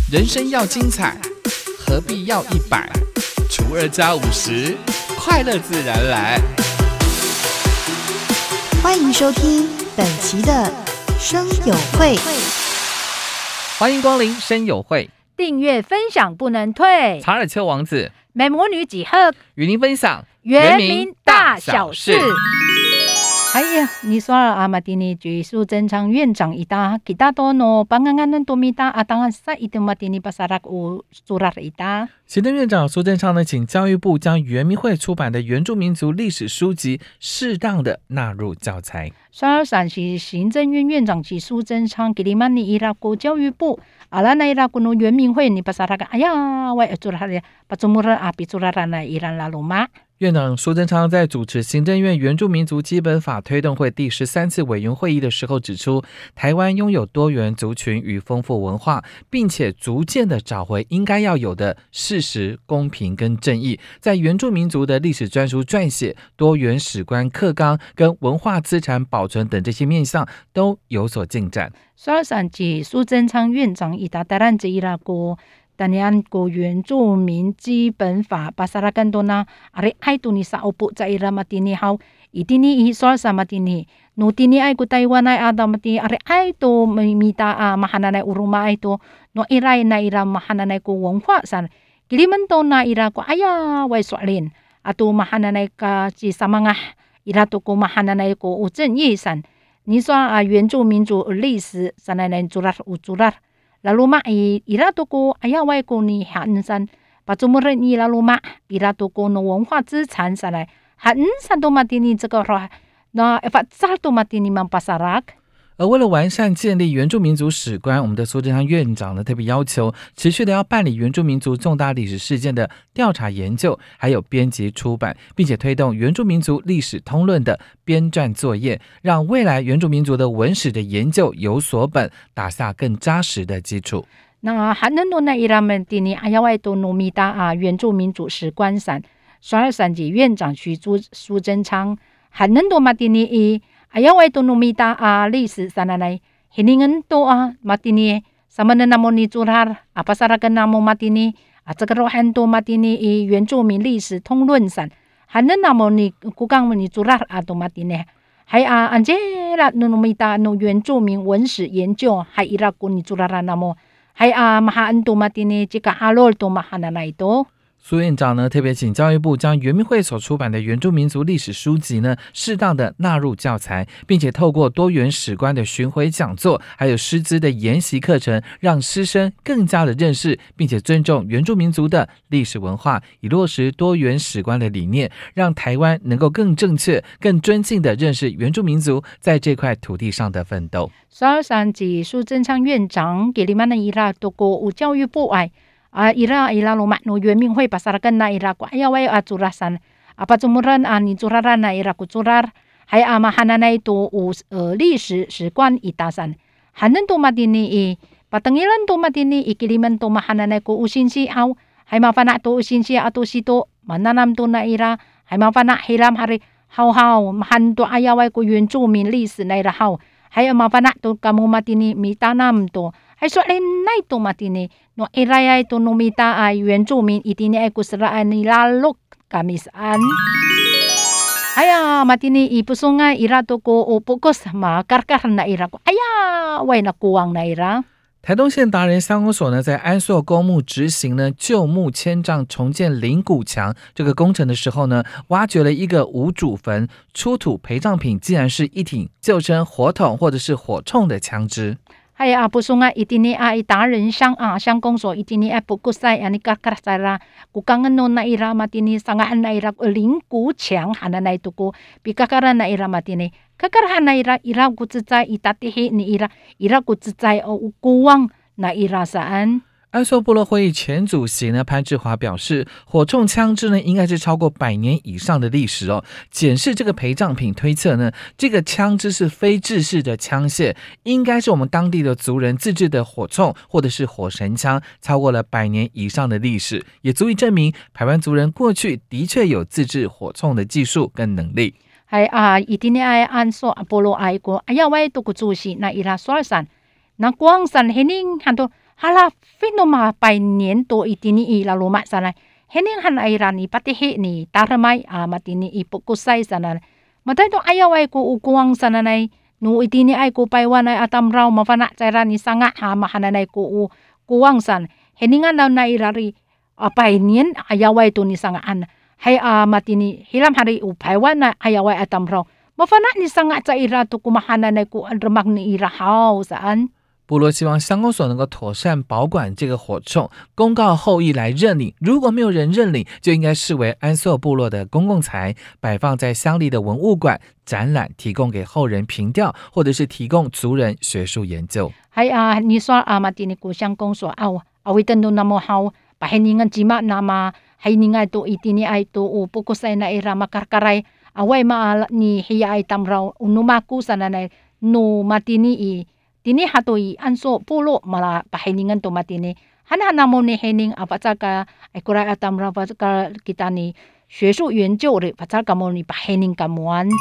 人生要精彩，何必要100？除2加50，快乐自然来。 欢迎收听本期的声友会， 欢迎光临声友会， 订阅分享不能退。 查尔丘王子美魔女几何与您分享原民大小事。哎呀，你说阿马蒂尼居苏正昌院长ita kita tono panganganan tumita atangan sa itu matini pasarak u surat ita。 行政院长苏贞昌呢，请教育部将原民会出版的原住民族历史书籍适当的纳入教材。 12日行政院院长及苏贞昌给你们你伊拉国教育部阿拉那伊拉国の原民会你pasarak哎呀喂surat ya pacumuran api surat na iran lalu mak。 院长苏贞昌在主持行政院原住民族基本法推动会第13次委员会议的时候指出，台湾拥有多元族群与丰富文化，并且逐渐的找回应该要有的事实、公平跟正义，在原住民族的历史专书撰写、多元史观课纲跟文化资产保存等这些面向都有所进展。 13日苏贞昌院长ita台湾伊拉国Tanian ko原住民基本法pasarakan to na ari ay to ni sa upo sa ira matini haw itini ihisol sa matini no tini ay ko Taiwan ay ada mati ari ay to mita mahananay uruma ay to no iray na ira mahananay ko wongwa san kiliman to na ira ko aya way swalin ato mahananay ka si sa mga ira to ko mahananay ko uzen yisan ni so 原住民族历史sanay na jurar ujurar lalu mak ira toko aya wai ko ni hansan pacumuran ni lalu mak ira toko no 文化资产上来hansan to matini 这个那fatsal to matini mampasarak。 而为了完善建立原住民族史观，我们的苏贞昌院长呢特别要求持续的要办理原住民族重大历史事件的调查研究，还有编辑出版，并且推动原住民族历史通论的编撰作业，让未来原住民族的文史的研究有所本，打下更扎实的基础。 那hanan no na iramen tini ayawai to nomita 原住民族史观上，12日院长苏贞昌hanan to matini Ayaw ito numita历史sananay hiningan to matini sama na namo ni jurar pasaragan namo matini at sagarohan to matini 原住民历史通论san hanan namo ni kugang ni jurar ato matini hay anjela numita no 原住民文史研究hay iraku ni juraran namo hay mahaan to matini jika halol to mahananay to。 苏院长呢特别请教育部将原民会所出版的原住民族历史书籍呢适当的纳入教材，并且透过多元史观的巡回讲座，还有师资的研习课程，让师生更加的认识并且尊重原住民族的历史文化，以落实多元史观的理念，让台湾能够更正确、更尊敬的认识原住民族在这块土地上的奋斗。 13日苏贞昌院长给你们的伊拉多国教育部爱ira lumak no 原民会pasarakan na ira ko ayaway aturasan pacumuran ni juraran na ira ko jurar hay mahanan na ito 历史史观itasan hanan to matini patangilan to matini ikiliman to mahanan na ko usinsi aw hay mapana to usinsi ato sito mananam to na ira hay mapana hilam hari haw mahan to ayaway ko 原住民历史na ira haw hay mapana to kamu matini mitanam to hay soalin na ito matini no iraya ito numita原住民itini ay kusraan nilalok kamisaan aya matini ipusunga ira to ko upukos makarkar na ira ko aya way nakuwang na ira。 台东县达人乡公所呢，在安朔公墓执行呢旧墓迁葬重建灵骨墙这个工程的时候呢，挖掘了一个无主坟，出土陪葬品竟然是一挺旧称火筒或者是火铳的枪支。 hay pusunga itini达人乡乡公所itini pukusay ani karkarasara kukangan no na ira matini sangaan na ira灵骨墙hanan na ito ko pikakaran na ira matini kakarahan na ira kutsitsay itatihi ni ira kutsitsay o ukuwang na ira saan。 安朔部落会议前主席呢潘志华表示，火铳枪支呢应该是超过100年以上的历史哦。检视这个陪葬品推测呢，这个枪支是非制式的枪械，应该是我们当地的族人自制的火铳或者是火神枪，超过了100年以上的历史，也足以证明排湾族人过去的确有自制火铳的技术跟能力。 hay itini ay anso apolo ay ko ayaw ay to kutsusi na ira swarsan na kuang san hining hanto hala fenoma by niento itini ila luma sana hening han aira ni patihi ni taramay matini ipukusay sana matay to ayaw ay ko ukuwang sana nay no itini ay ko paywan ay atamraw mafana tsara ni sanga mahananay ko kuwang san heningan na nairari apay nien ayaw ay to ni sangaan hay matini hilam hari upaywan na ayaw ay atamraw mafana ni sanga tsaira to kumahananay ko alramak ni irahaw saan 部落希望乡公所能够妥善保管这个火铳，公告后裔来认领。如果没有人认领，就应该视为安朔部落的公共财，摆放在乡里的文物馆展览，提供给后人凭吊，或者是提供族人学术研究。 你说matini ko乡公所awitan do namo haw pahiningan jima nama hininga to itini ay to pukusay na ira makarkaray away ni hiya ay tamraw unumaku sana na no matini tini hatoi anso pulo mala pahiningan to matini hanana mo ni hening apataka ay kuray atamra pataka kita ni 学术研究的pataka mo ni pahining kamuan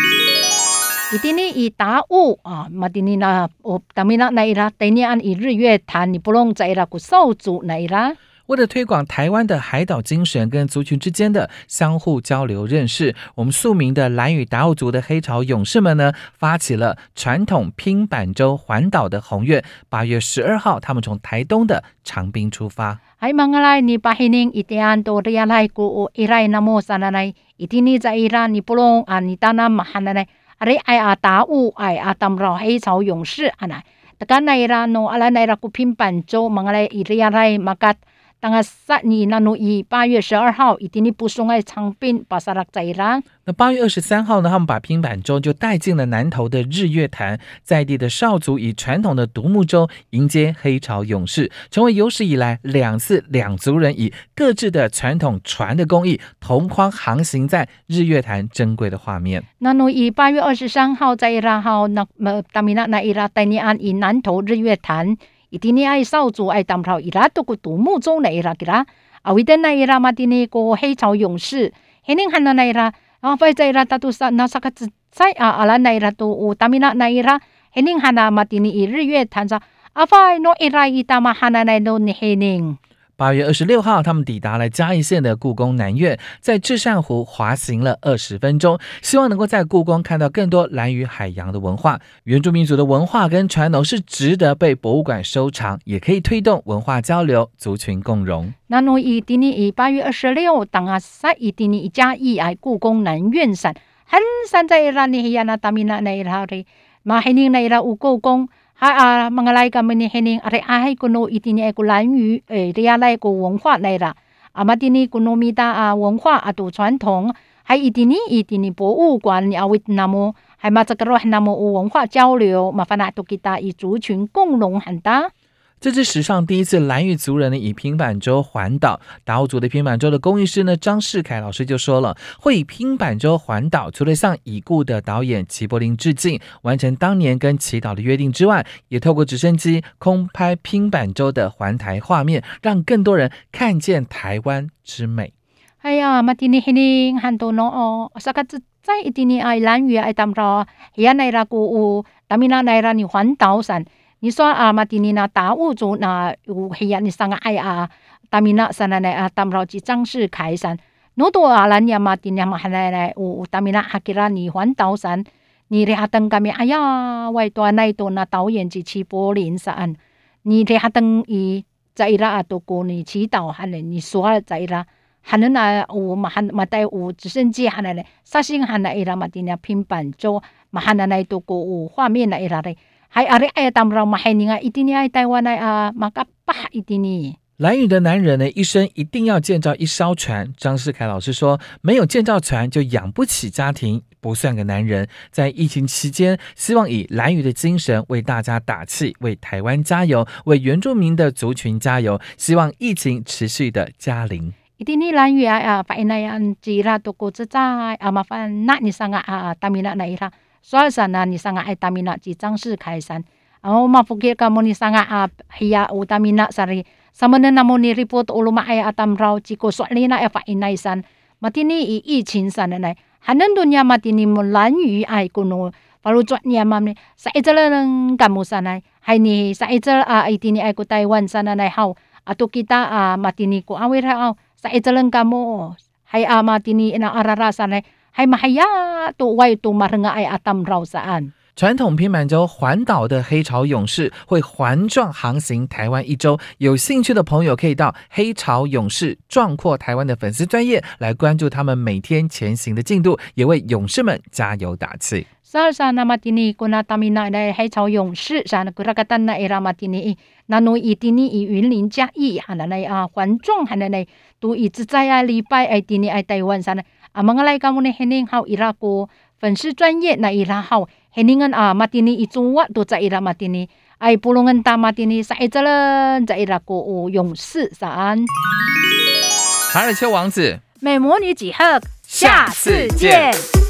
itini ita matini na tamina na ira tanian i 日月潭你不用在ira ku 少主na ira 为了推广台湾的海岛精神跟族群之间的相互交流认识，我们宿民的兰屿达悟族的黑潮勇士们呢，发起了传统拼板舟环岛的宏愿。8月12号，他们从台东的长滨出发。 Ay mga lay ni pahining itian to realay ko iray na mo sananay itini za ira ni pulong ni tanam mahananay ari ay atau ay atamraw hay chao 勇士 anay takan na ira no ala na ira ko pinpan jo mga lay iriaray makat当sa ni nanu i 8月12号itini pusong ay Changpin pasarak sa ira。 那8月23号呢，他们把拼板舟就带进了南投的日月潭，在地的少族以传统的独木舟迎接黑潮勇士，成为有史以来2次两族人以各自的传统船的工艺同框航行在日月潭珍贵的画面。 nanu i 8月23号在ira号那tamina na ira tanian i 南投日月潭。itini ay少主ay tamraw ira to ko独木舟na ira kira awitan na ira matini ko 黑潮勇士 hening han na ira fay za ira tatu sa nasakat sai ala na ira to tamina na ira hening hana matini i 日月潭sa afay no ira itama hana na no ni hening。 8月26号，他们抵达了嘉义县的故宫南院，在至善湖滑行了20分钟，希望能够在故宫看到更多兰屿海洋的文化。原住民族的文化跟传统是值得被博物馆收藏，也可以推动文化交流、族群共荣。 nanu itini 8月26当sa itini嘉义ay故宫南院山hansan za ira ni hiyana tamina na ira ri mahining na ira故宫mga lay kami ni hening are ahay kuno itini ay kulanyu realay ko 文化 na ira amatini kuno mita 文化 ato 传统 hay itini 博物馆 ni awit namo hay matsakaroh namo 文化交流 mafana to kita i 族群共荣 hanta。 这是史上第一次兰屿族人呢以平板舟环岛。达悟族的平板舟的工艺师呢张世凯老师就说了，会以平板舟环岛，除了向已故的导演齐柏林致敬，完成当年跟祈祷的约定之外，也透过直升机空拍平板舟的环台画面，让更多人看见台湾之美。 哎呀，matini hining hanto no sakat在itini ay兰屿ay tamra yan ay raku tamina na ira ni 环岛山。你说matini na 达悟族那hiyan ni sanga ay tamina sana na tamraw ji 张世凯山。no to alan ya matini mahana na tamina hakira ni 环岛山。你rehatang kami aya wai to anay to na 导演ji 齐柏林saan。你rehatang i 在ira ato ko ni 祈祷 hanen 你说在ira hanen na matay直升机 hanen sasing hana ira matini 平板舟 mahana na ito ko 画面 na ira hay ari ay tamraw mahininga itini ay Taiwan ay makapah itini。 兰屿的男人呢，一生一定要建造一艘船。张世凯老师说，没有建造船就养不起家庭，不算个男人。在疫情期间，希望以兰屿的精神为大家打气，为台湾加油，为原住民的族群加油。希望疫情持续的加零。 itini兰屿painayan jira to ko tsay mafan na ni sanga tamina na ira soal sana ni sanga ay tamina ji 张世凯山。mapukir ka mo ni sanga hiya tamina sari samana na mo ni report uluma ay atamraw chiko soalina ay painaysan matini i 疫情 sana na hanan dunya matini mo 兰屿ay kuno palujot niya mamni sa italang kamusanay hay ni sa ijal itini ay ko Taiwan sana nay haw ato kita matini ko awir haw sa ijalan kamo hay matini na ararasan hay mahaya to way to marenga ay atam raw saan。 传统平板舟环岛的黑潮勇士会环状航行台湾1周，有兴趣的朋友可以到黑潮勇士壮阔台湾的粉丝专页来关注他们每天前行的进度，也为勇士们加油打气。 Sa namatini ko na tamina na 黑潮勇士sa nagkuragatan na iramatini nanoy itini云林嘉义hananay环状hananay tu itzaya lipay ay tini ay Taiwan sana mga lay kamo ni hening haw ira ko 粉丝专业na ira haw heningan matini ituwa to sa ira matini ay pulungan ta matini sa ijalan sa ira ko 勇士saan。 卡尔丘王子， 美魔女几何，下次见。